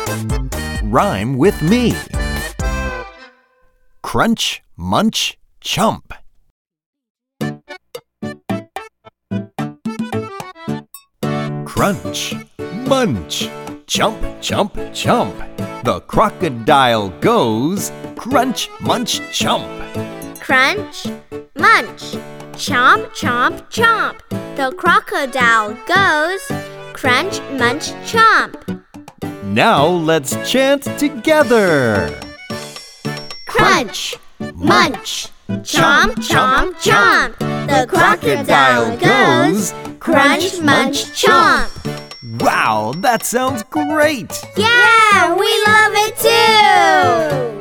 Rhyme with me. Crunch, munch, chomp. Crunch, munch, chomp, chomp, chomp. The crocodile goes crunch, munch, chomp. Crunch, munch, chomp, chomp, chomp. The crocodile goes crunch, munch, chomp. Now let's chant together. Crunch, munch, chomp, chomp, chomp. The crocodile goes crunch, munch, chomp. Wow, that sounds great! Yeah, we love it too!